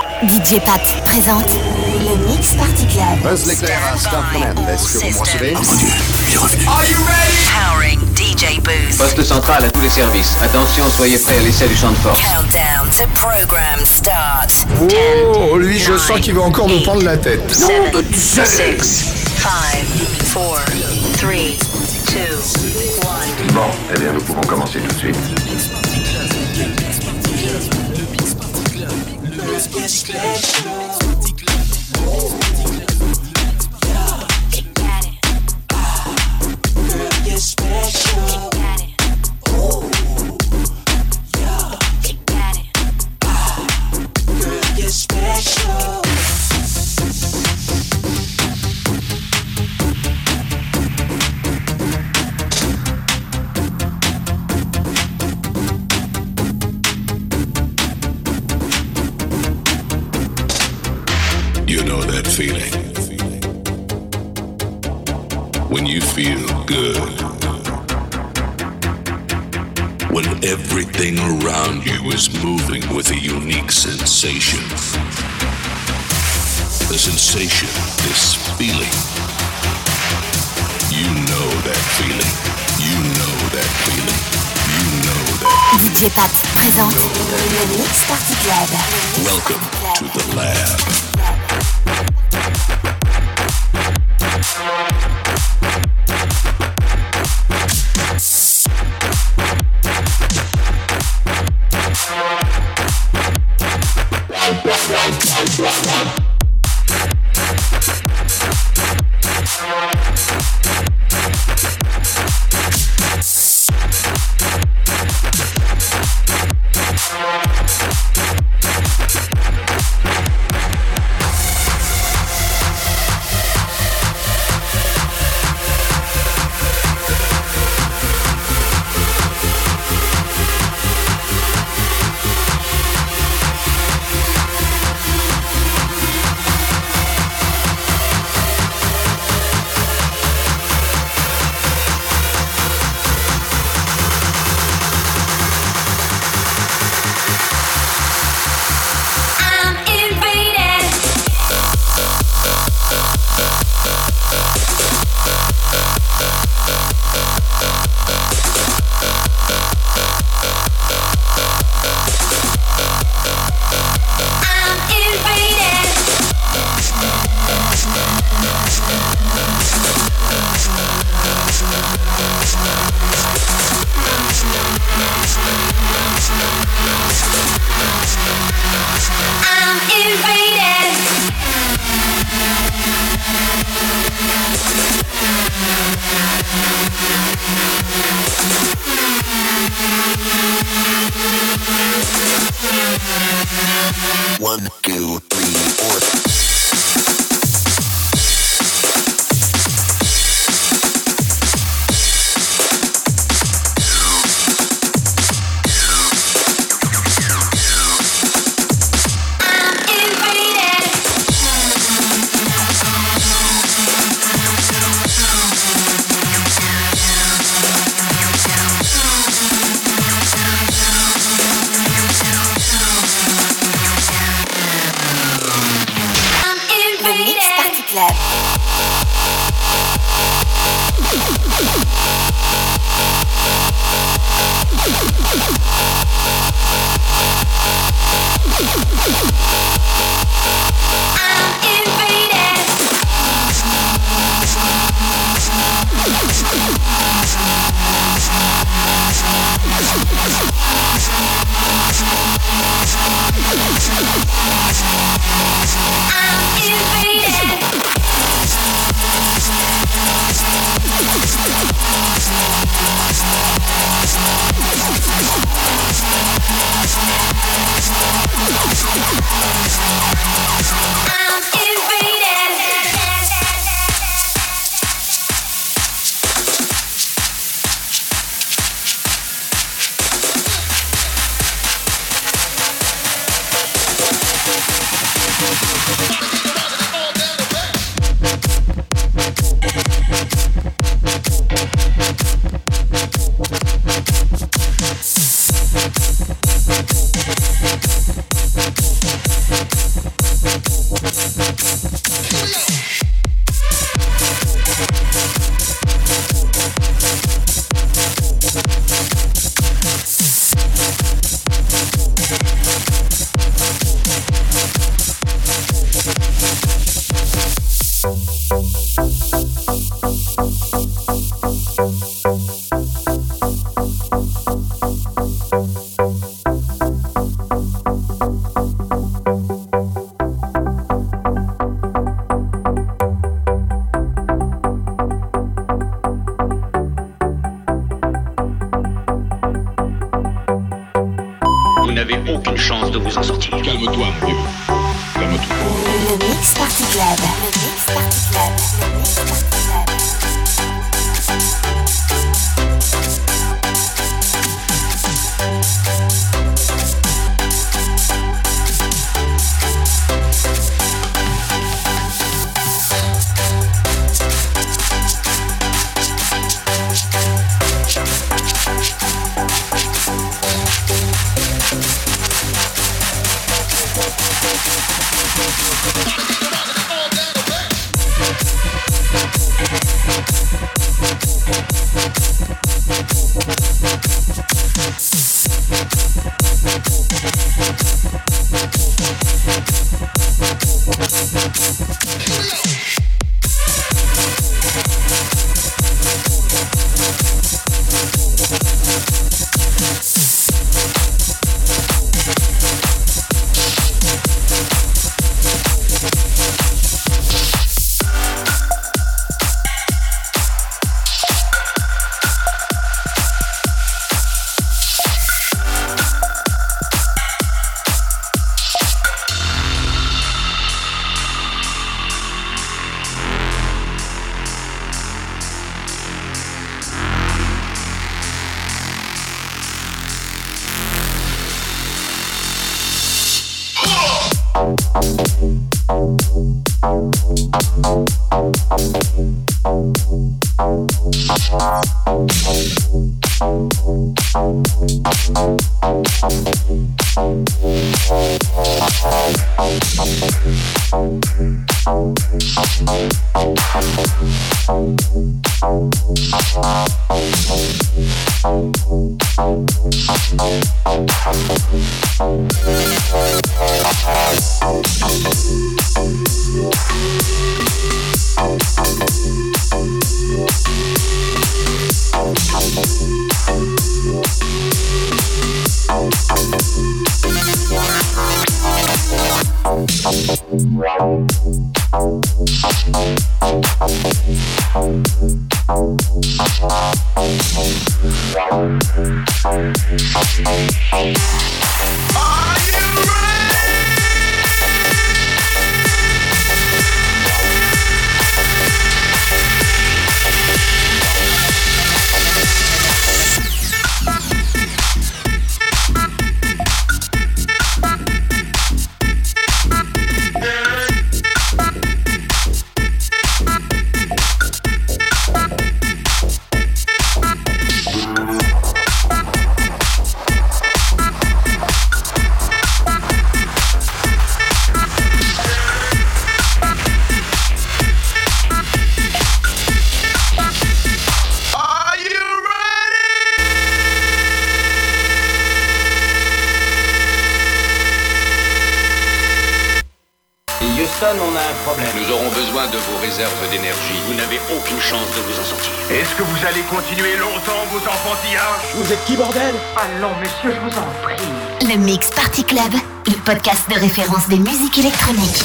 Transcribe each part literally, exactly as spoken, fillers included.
D J Pat présente le Mix Party Club. Buzz l'éclair à Start Command. Est-ce que vous me recevez? Oh mon Dieu, il est revenu. Are you ready? Powering D J Booth. Poste central à tous les services. Attention, soyez prêts à l'essai du champ de force. Countdown to program start. Oh, lui, je sens qu'il va encore nous prendre la tête. seven, six, five, four, three, two, one. Bon, eh bien, nous pouvons commencer tout de suite. You know that feeling when you feel good, when everything around you is moving with a unique sensation. The sensation, this feeling. You know that feeling. You know that feeling. You know that. D J Pat présente le Mix Party Club. Welcome to the lab. One, two, three, four. aucune chance de vous en sortir. Calme-toi, mon vieux. Calme-toi. Le Mix Party Club. Le Mix Party Club. Le Mix Party Club. On a un problème. Nous aurons besoin de vos réserves d'énergie. Vous n'avez aucune chance de vous en sortir. Est-ce que vous allez continuer longtemps vos enfantillages? Vous êtes qui, bordel? Allons, messieurs, je vous en prie. Le Mix Party Club, le podcast de référence des musiques électroniques.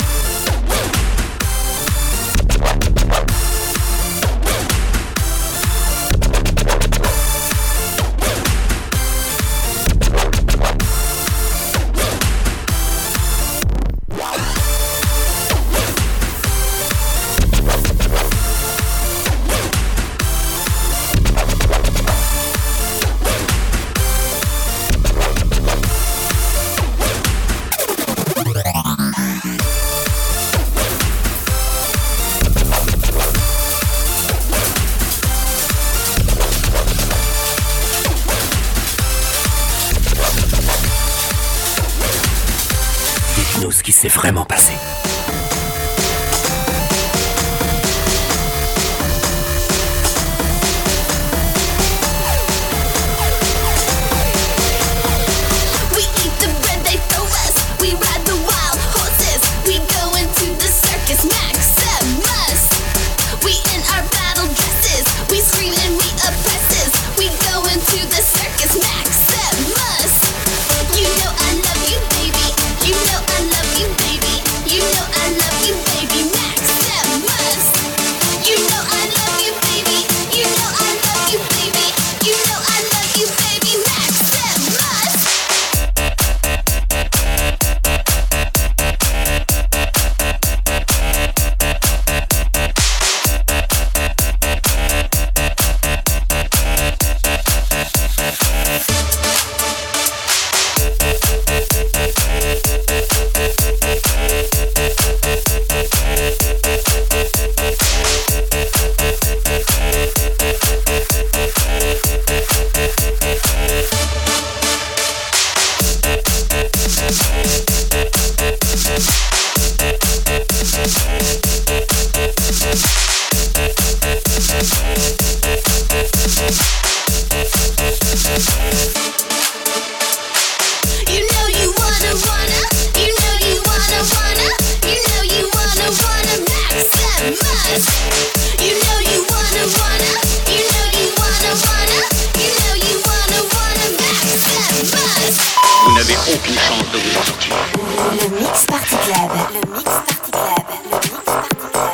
Dites-nous ce qui s'est vraiment passé. You know I love you, baby. You know I love you, baby. You know I Mix Party Club. Le Mix Party Club. Le Mix Party Club.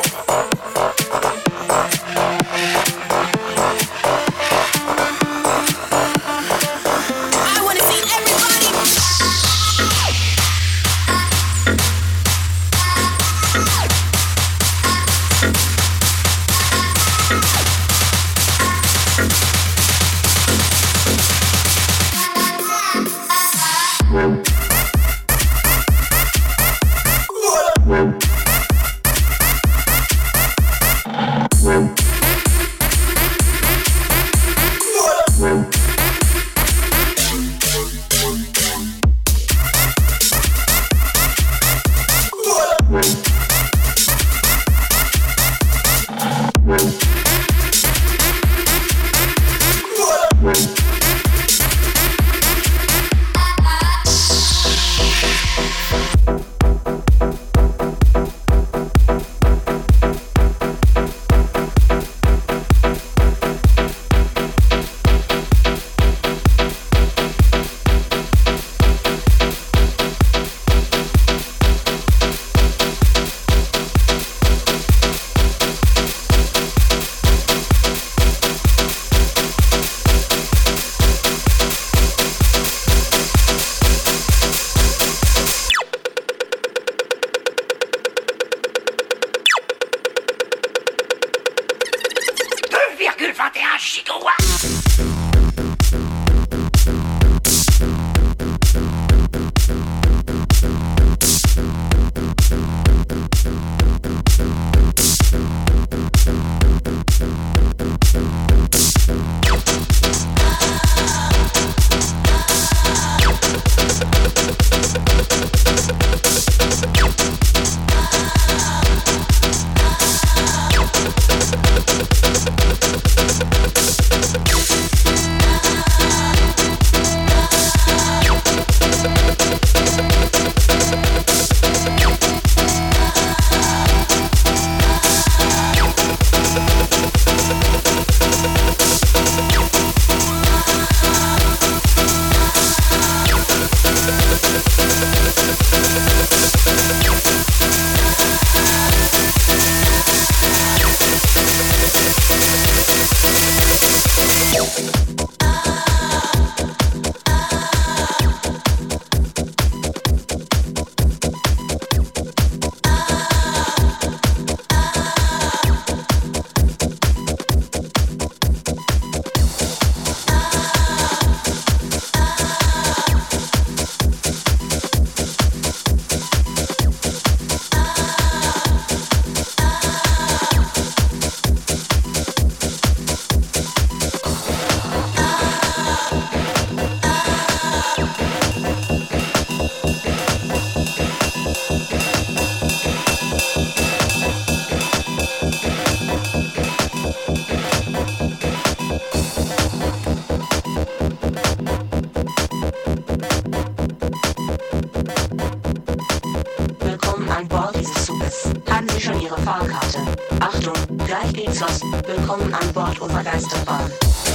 Willkommen an Bord unserer Geisterbahn.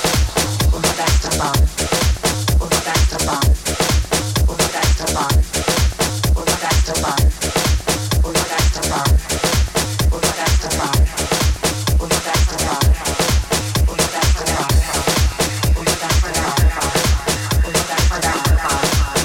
Unserer Geisterbahn. Unserer Geisterbahn. Unserer Geisterbahn. Unserer Geisterbahn. Unserer Geisterbahn. Unserer Geisterbahn. Unserer Geisterbahn. Unserer Geisterbahn. Unserer Geisterbahn. Unserer Geisterbahn.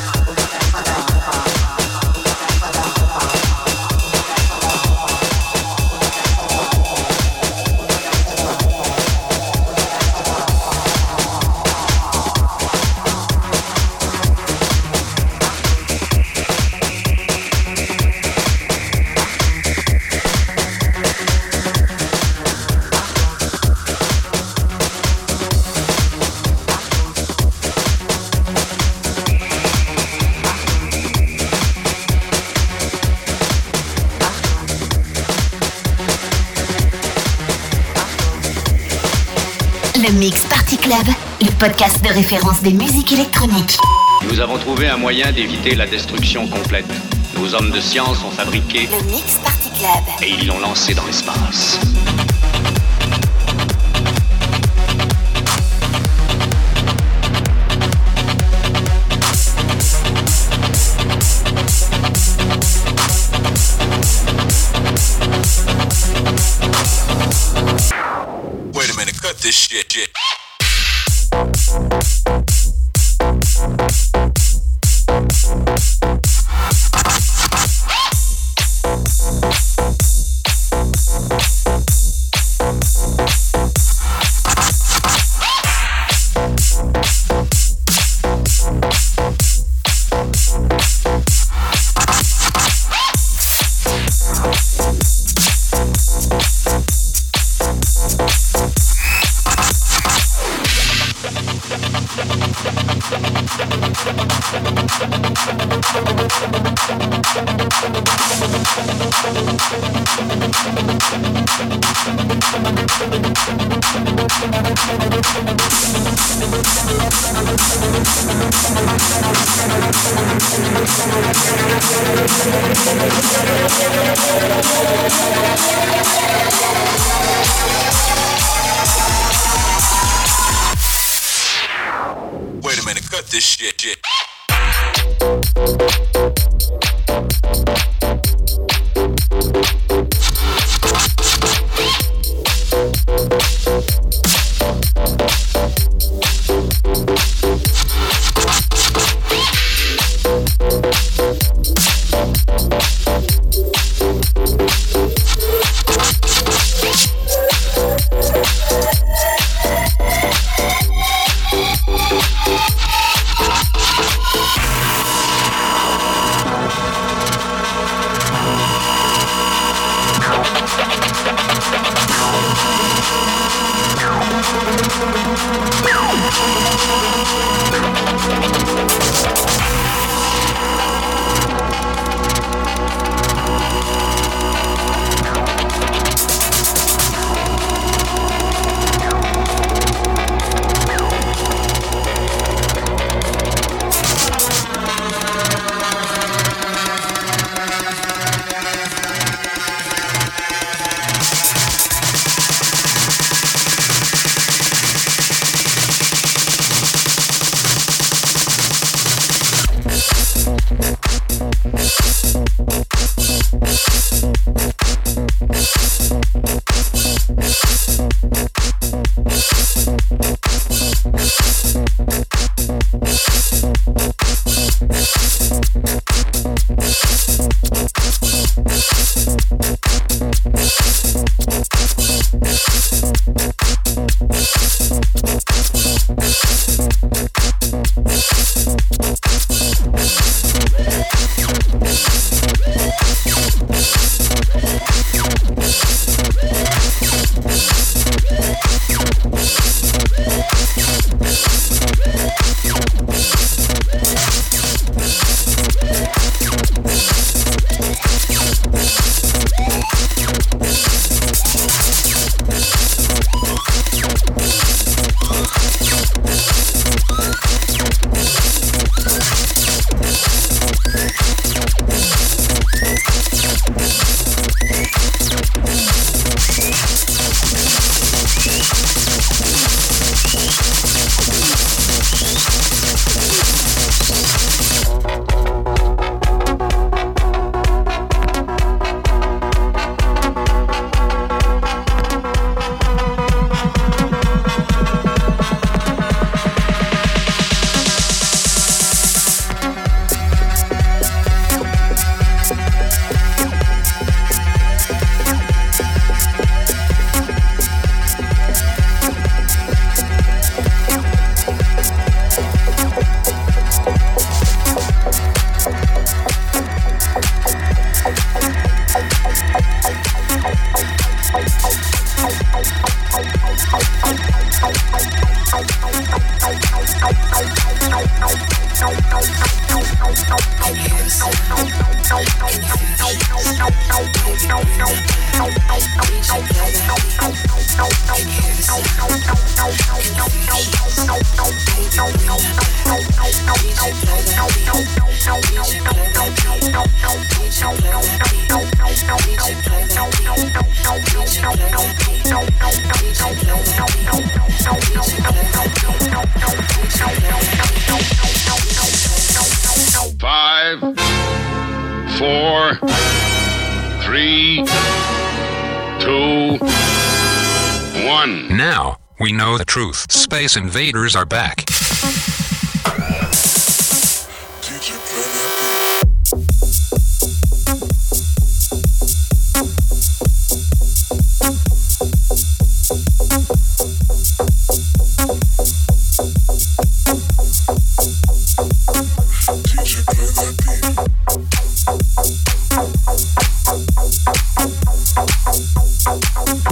Le Mix Party Club, le podcast de référence des musiques électroniques. Nous avons trouvé un moyen d'éviter la destruction complète. Nos hommes de science ont fabriqué le Mix Party Club et ils l'ont lancé dans l'espace. Wait a minute, cut this shit, shit. Five, four, three, two, one. Now, we know the truth. Space invaders are back.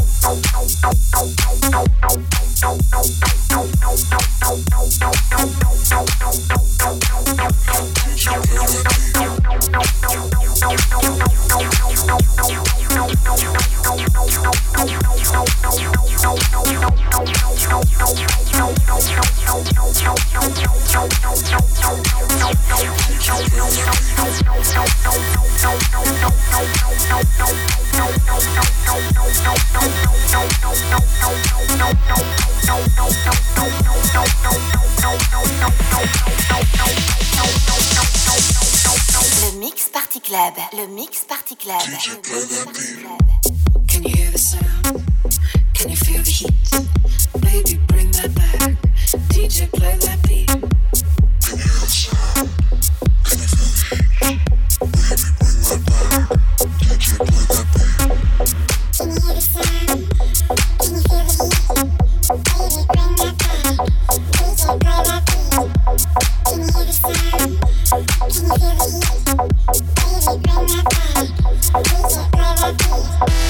No, no, no, no, no, no, no, no, no, no, no, no, no, no, no, no, no, no, Le Mix Party Club, le Mix Party Club. Can you hear the sound? Can you feel the heat? Baby, bring that back. D J, play that beat. Can you hear the sound? Can you feel the heat? Baby, bring that back. D J, play that beat. Can you hear the sound? Can you feel the heat? Baby, bring that back. D J, play that beat. Can you hear the sound? Can you feel the heat? Baby, bring that back. D J, play that beat.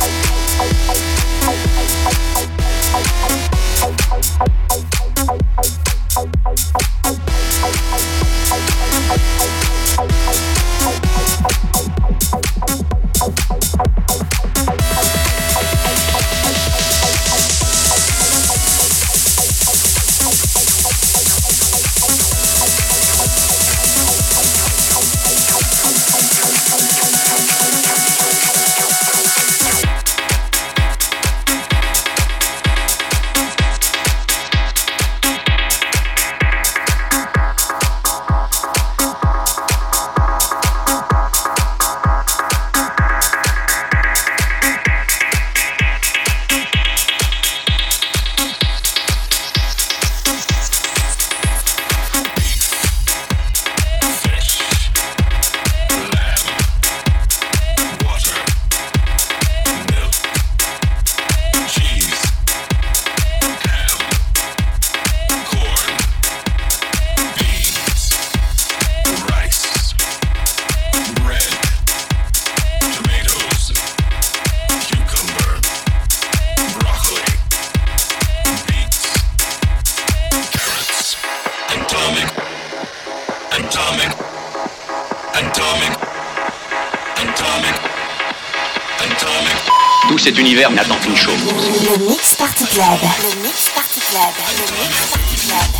Tout cet univers n'attend qu'une chose. Le Mix Party Club. Le Mix Party Club. Le Mix Party Club.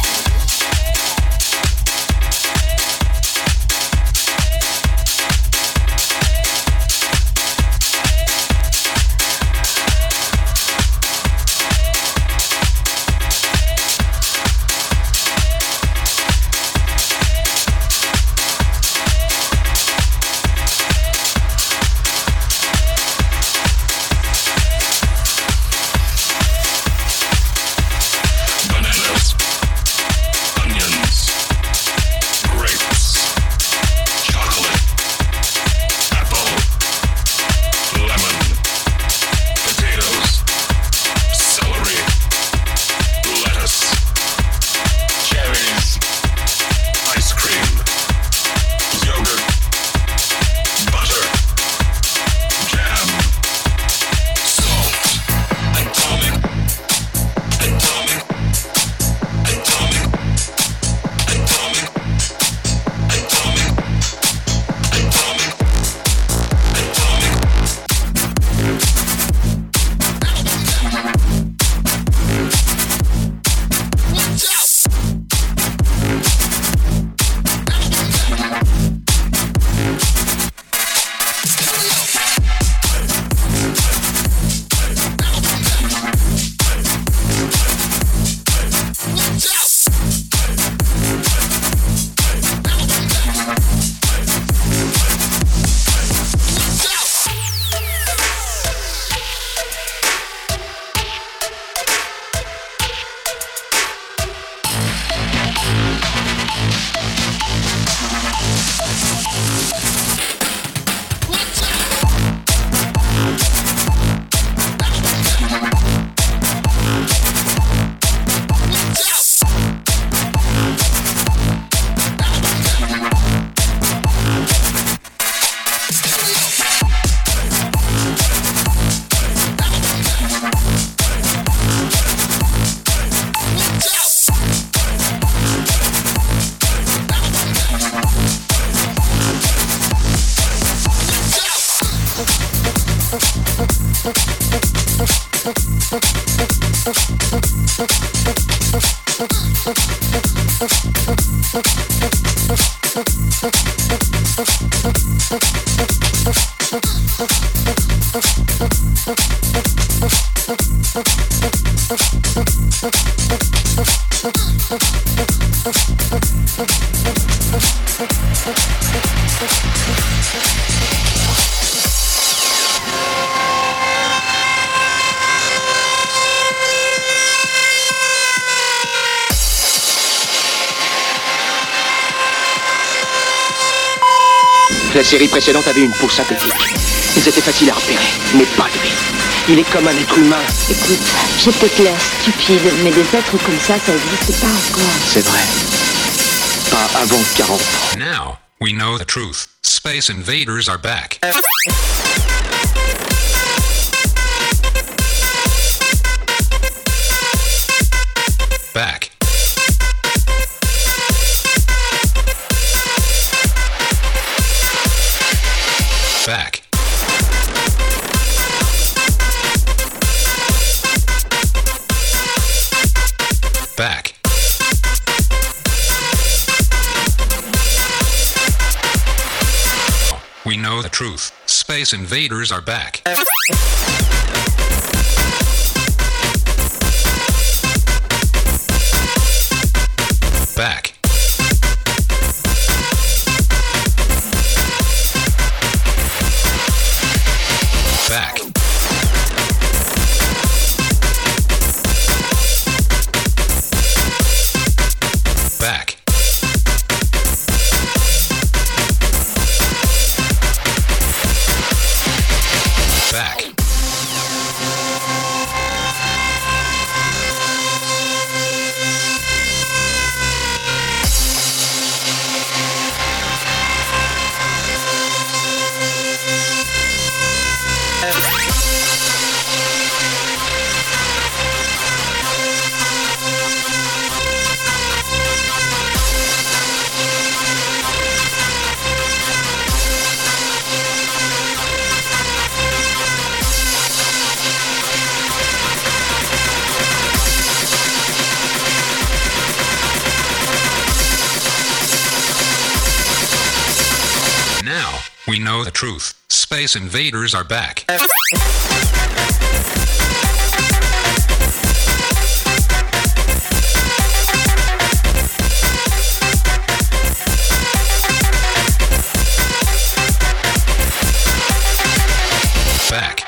We'll be right back. La série précédente avait une peau synthétique. Ils étaient faciles à repérer, mais pas lui. Il est comme un être humain. Écoute, j'ai peut-être l'air stupide, mais des êtres comme ça, ça n'existe pas encore. C'est vrai. Pas avant quarante ans. Now, we know the truth. Space invaders are back. Back. Back. Back. We know the truth. Space invaders are back. Back. Back. Back. Back. Now, we know the truth. Space invaders are back. Back.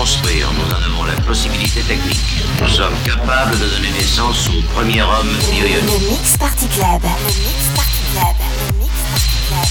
construire, nous en avons la possibilité technique. Nous sommes capables de donner naissance au premier homme bionique. Le Mix Party Club. Le Mix Party Club. Le Mix Party Club.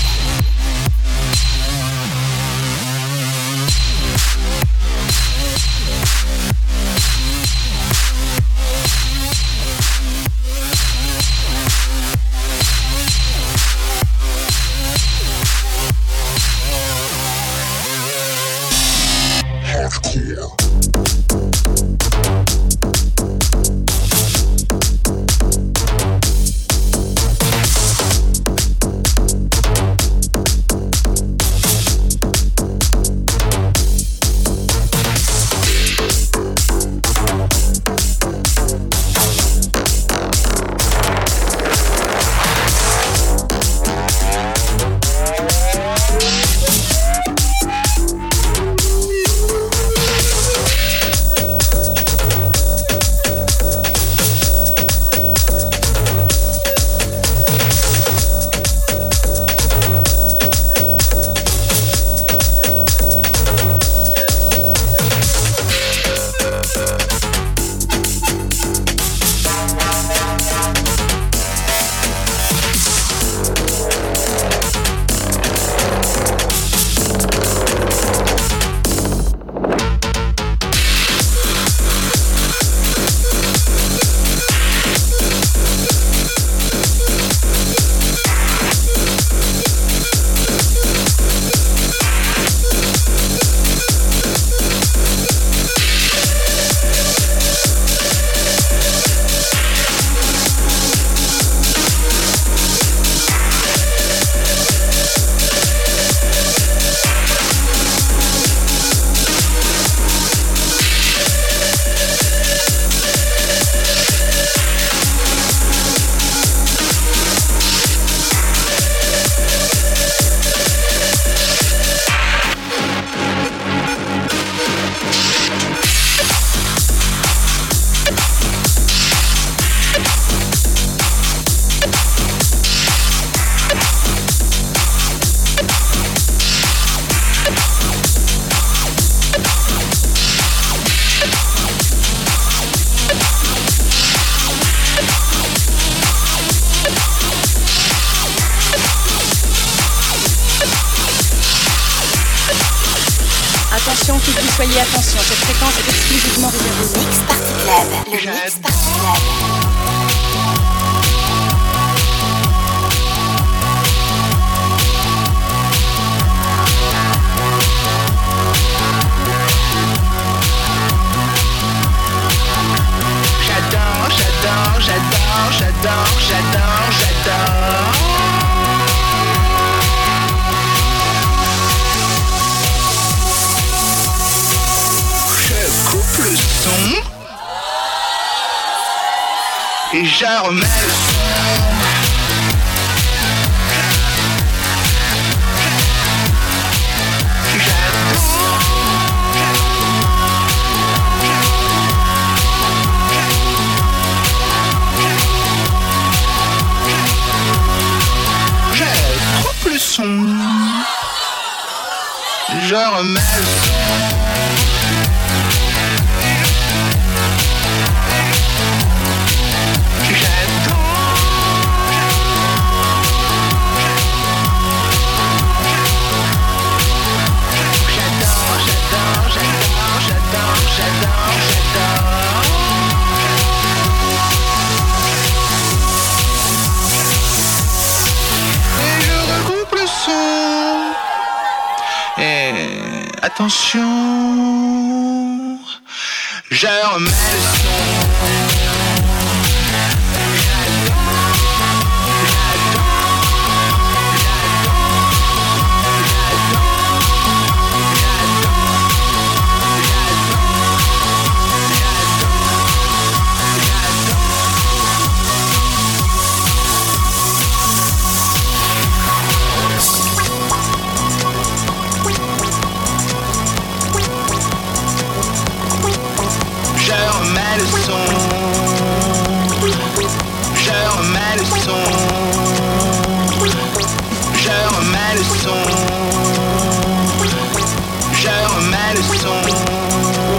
Attention, qu'il vous soyez attention, cette fréquence est exclusivement réservée. Mix Party Club. Le Mix Party Club. J'adore, j'adore, j'adore, j'adore, j'adore, j'adore. Je coupe le son et je remets le son. Le son, je remets le son. J'adore, j'adore, j'adore, j'adore, j'adore, j'adore. Et je regroupe le son. Et attention, je remets le son. Je remets le son. Je remets le son. Je remets le son. Je remets le son.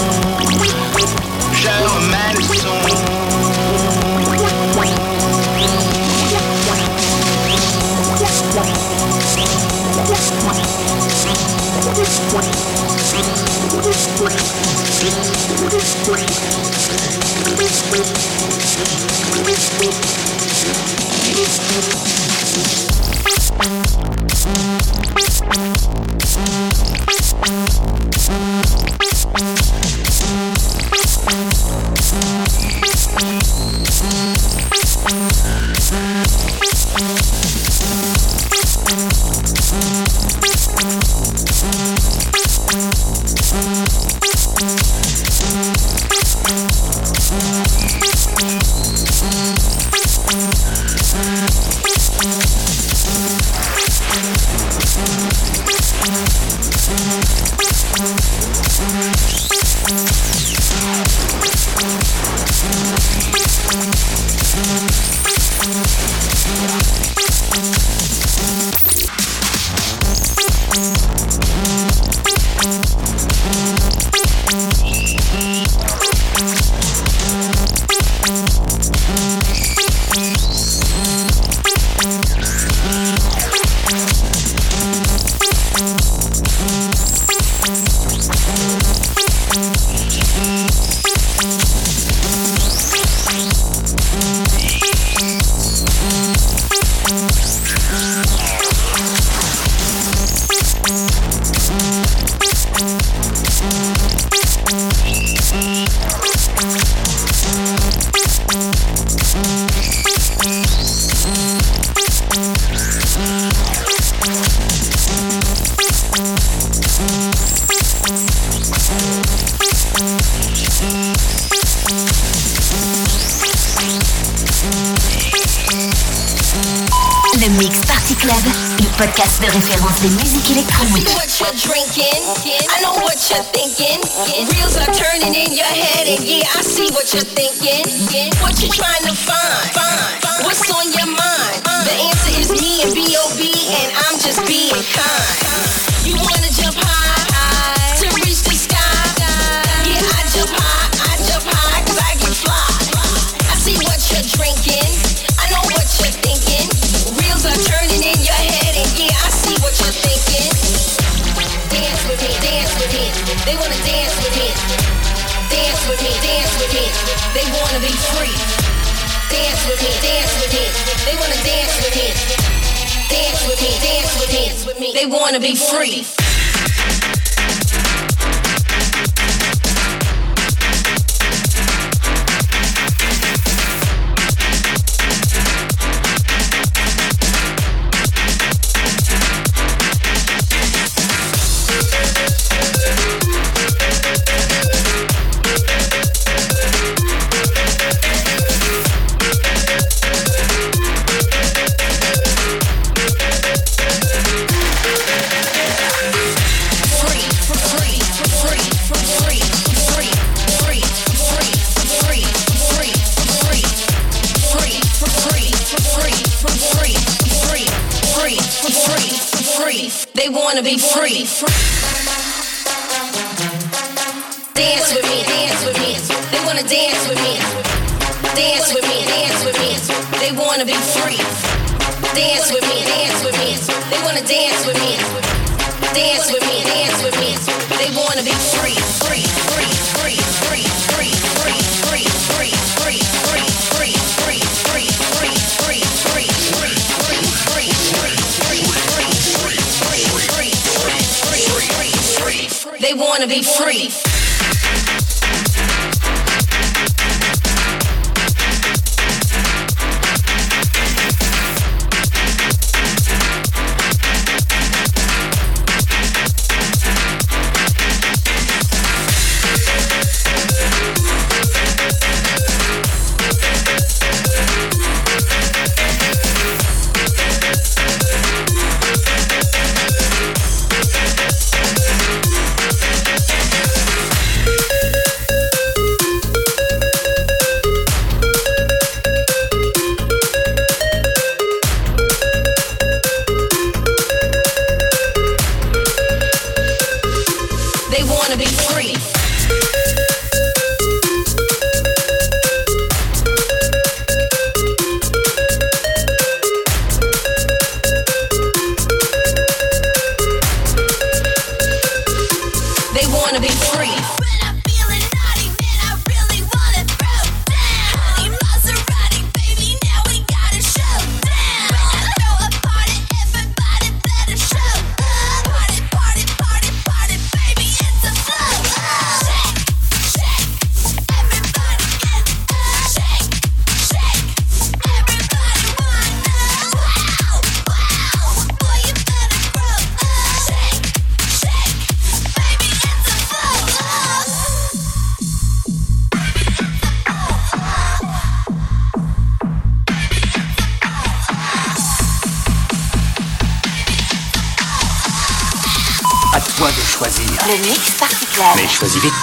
Le Mix Party Club, le podcast de référence des musiques électroniques. I know what you're drinking, I know what you're thinking. Reels are turning in your head, and yeah, I see what you're thinking. What you trying to find? Find. What's on your mind? The answer is me and B O B, and I'm just being kind. You wanna jump high to reach the sky? Yeah, I jump high, I jump high, cause I get fly. I see what you're drinking, I know what you're thinking. Reels are turning in your head, and yeah, I see what you're thinking. Dance with me, dance with me. They wanna dance with me. Dance with me, dance with me. They wanna be free. Dance with me, dance with me. They wanna dance with me. Dance with me, dance with me. They wanna be free. They wanna be free. Dance with me, dance with me. They wanna dance with me. Dance with me, dance with me. They wanna be free. Dance with me, dance with me. They wanna dance with me. Dance with me, dance with me. They wanna be free, free, free, free, free, free, free, free, free, free, free, free, free, free, free, free, free, free, free, free. They wanna be free. toi de choisir. Le Mix Party Club. Mais choisis vite.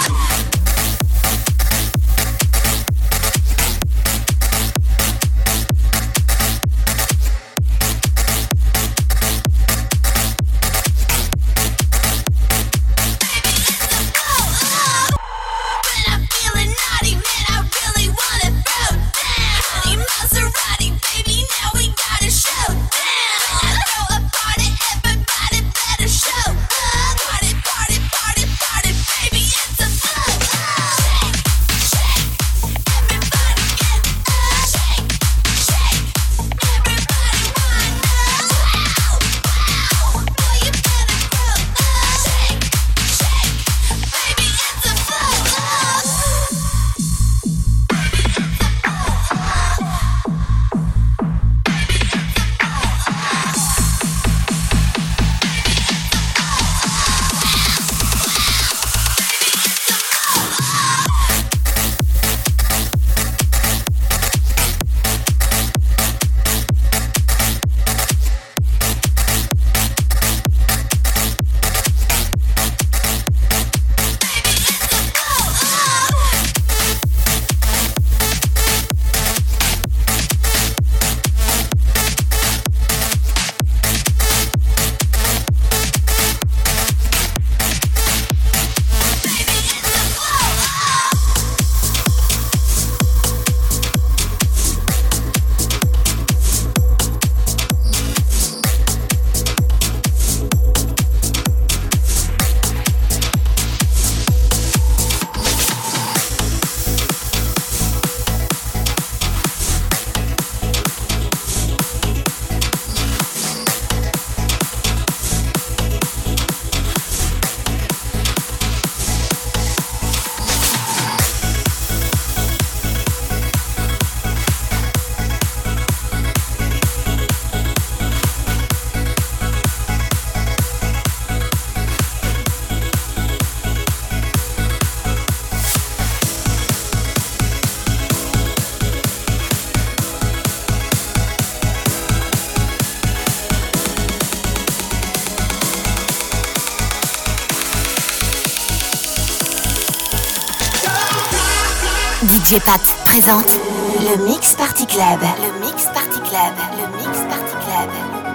D J Pat présente le Mix Party Club. Le Mix Party Club. Le Mix Party Club.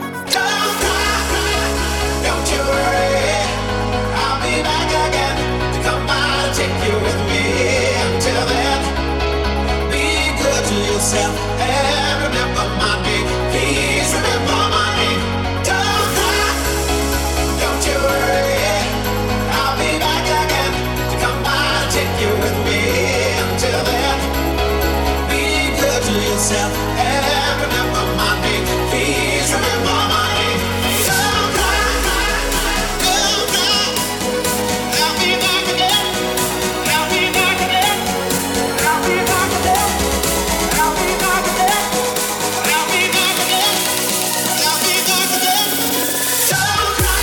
Don't you worry, I'll be back again to come by and take you with me. Until then, be good to yourself and remember my name. Please remember my name. Don't cry, don't you worry, I'll be back again to come by and take you with me. Until then, be good to yourself and remember my name. Please remember my name. Don't cry, don't cry. I'll be back again. I'll be back again. I'll be back again. I'll be back again. I'll be back again. I'll be back again. Don't cry.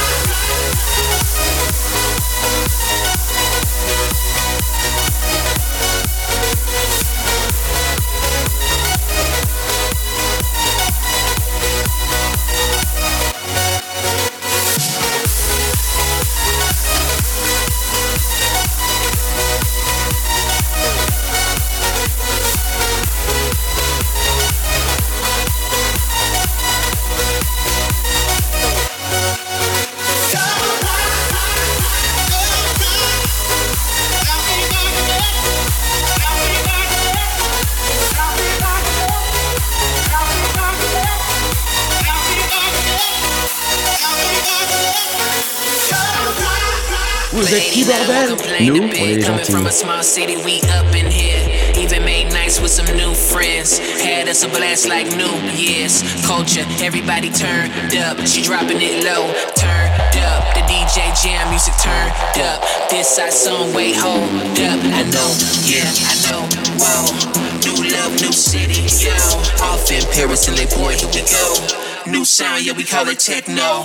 Vous êtes qui, bordel? Nous, on est les gentils. From a small city, we up in here. Even made nights with some new friends. Had us a blast like New Year's. Culture, everybody turned up. She dropping it low, turned up. The D J jam music turned up. This side song way hold up. I know, yeah, I know. Whoa, new love, new city, yo. Off in Paris and Les Boy, here we go. New sound, yeah, we call it techno.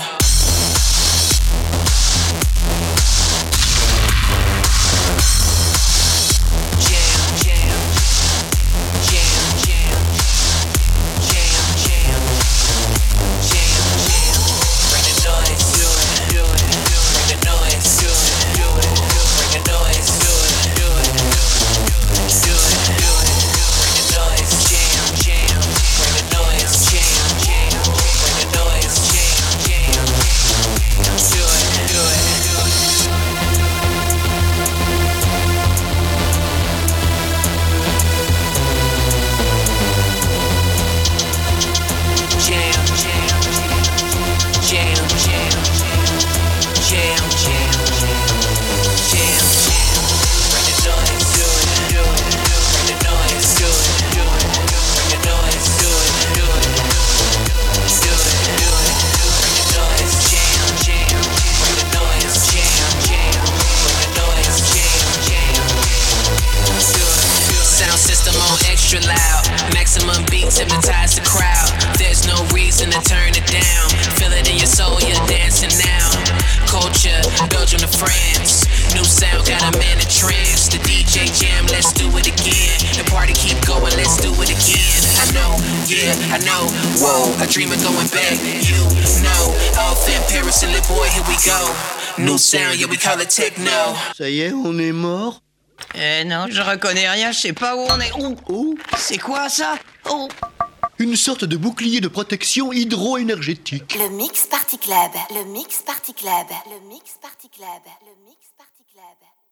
Noise. extra loud. Maximum beats hypnotize the crowd. There's no reason to turn it down. Feel it in your soul, you're dancing now. Culture, Belgium to France. New sound got a man in trance. The D J jam, let's do it again. The party keep going, let's do it again. I know, yeah, I know. Whoa, I dream of going back. You know, off in Paris and Le Boy, here we go. New sound, yeah, we call it techno. Ça y est, on est mort. Eh non, je reconnais rien, je sais pas où on est. Oh, oh. C'est quoi ça? Oh. Une sorte de bouclier de protection hydro-énergétique. Le Mix Party Club, le Mix Party Club, le Mix Party Club, le Mix Party Club.